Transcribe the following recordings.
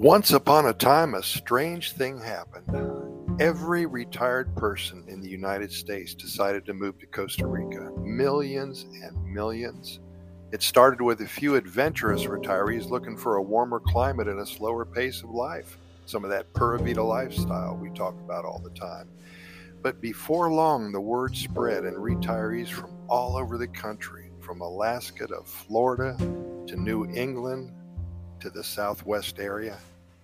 Once upon a time, a strange thing happened. Every retired person in the United States decided to move to Costa Rica. Millions and millions. It started with a few adventurous retirees looking for a warmer climate and a slower pace of life. Some of that Pura Vida lifestyle we talk about all the time. But before long, the word spread, and retirees from all over the country, from Alaska to Florida to New England to the Southwest area,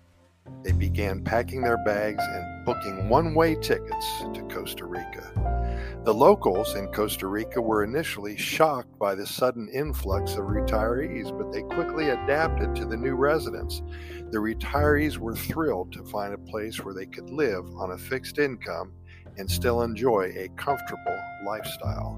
they began packing their bags and booking one-way tickets to Costa Rica. The locals in Costa Rica were initially shocked by the sudden influx of retirees, but they quickly adapted to the new residents. The retirees were thrilled to find a place where they could live on a fixed income and still enjoy a comfortable lifestyle.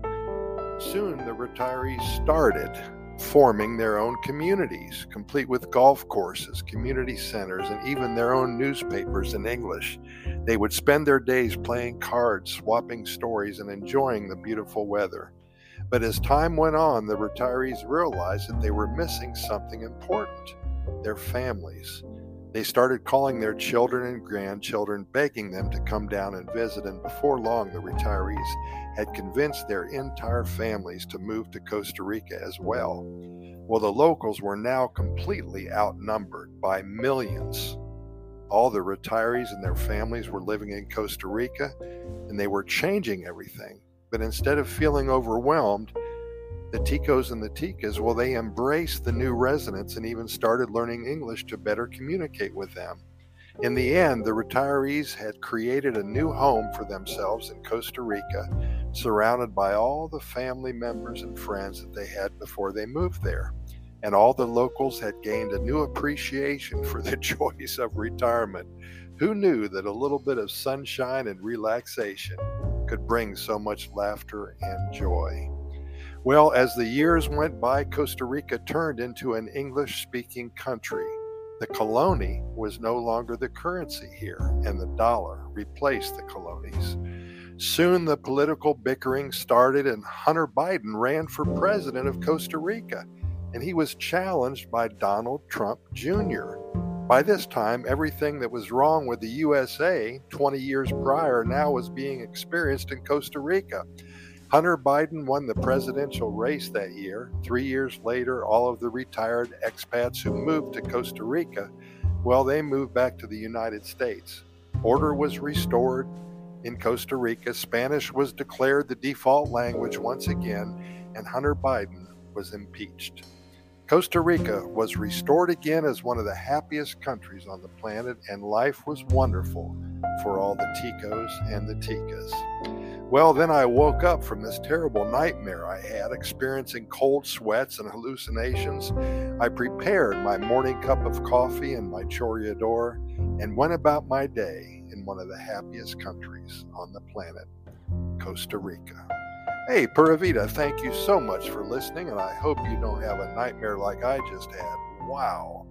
Soon the retirees started forming their own communities, complete with golf courses, community centers, and even their own newspapers in English. They would spend their days playing cards, swapping stories, and enjoying the beautiful weather. But as time went on, the retirees realized that they were missing something important: their families. They started calling their children and grandchildren, begging them to come down and visit, and before long, the retirees had convinced their entire families to move to Costa Rica as well. Well, the locals were now completely outnumbered by millions. All the retirees and their families were living in Costa Rica, and they were changing everything. But instead of feeling overwhelmed, the Ticos and the Ticas, well, they embraced the new residents and even started learning English to better communicate with them. In the end, the retirees had created a new home for themselves in Costa Rica, surrounded by all the family members and friends that they had before they moved there. And all the locals had gained a new appreciation for the joys of retirement. Who knew that a little bit of sunshine and relaxation could bring so much laughter and joy? Well, as the years went by, Costa Rica turned into an English-speaking country. The colony was no longer the currency here, and the dollar replaced the colonies. Soon the political bickering started, and Hunter Biden ran for president of Costa Rica, and he was challenged by Donald Trump Jr. By this time, everything that was wrong with the USA 20 years prior now was being experienced in Costa Rica. Hunter Biden won the presidential race that year. 3 years later, all of the retired expats who moved to Costa Rica, well, they moved back to the United States. Order was restored in Costa Rica. Spanish was declared the default language once again, and Hunter Biden was impeached. Costa Rica was restored again as one of the happiest countries on the planet, and life was wonderful for all the Ticos and the Ticas. Well, then I woke up from this terrible nightmare I had, experiencing cold sweats and hallucinations. I prepared my morning cup of coffee and my chorreador and went about my day in one of the happiest countries on the planet, Costa Rica. Hey, Pura Vida, thank you so much for listening, and I hope you don't have a nightmare like I just had. Wow.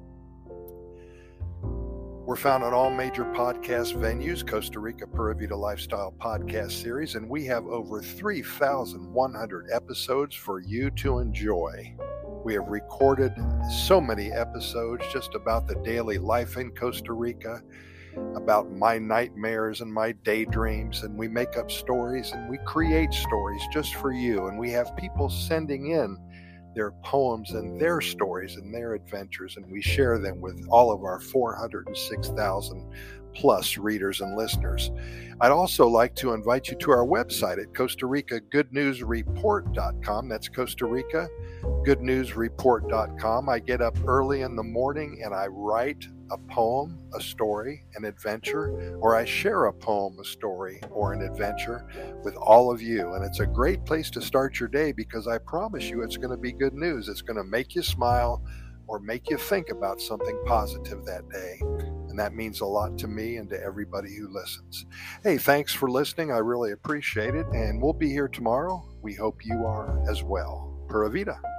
We're found on all major podcast venues, Costa Rica Pura Vida Lifestyle Podcast Series, and we have over 3,100 episodes for you to enjoy. We have recorded so many episodes just about the daily life in Costa Rica, about my nightmares and my daydreams, and we make up stories and we create stories just for you, and we have people sending in their poems and their stories and their adventures, and we share them with all of our 406,000 plus readers and listeners. I'd also like to invite you to our website at Costa Rica GoodNewsReport.com. That's Costa Rica GoodNewsReport.com. I get up early in the morning and I write a poem, a story, an adventure, or I share a poem, a story, or an adventure with all of you. And it's a great place to start your day because I promise you it's going to be good news. It's going to make you smile or make you think about something positive that day. And that means a lot to me and to everybody who listens. Hey, thanks for listening. I really appreciate it. And we'll be here tomorrow. We hope you are as well. Pura Vida.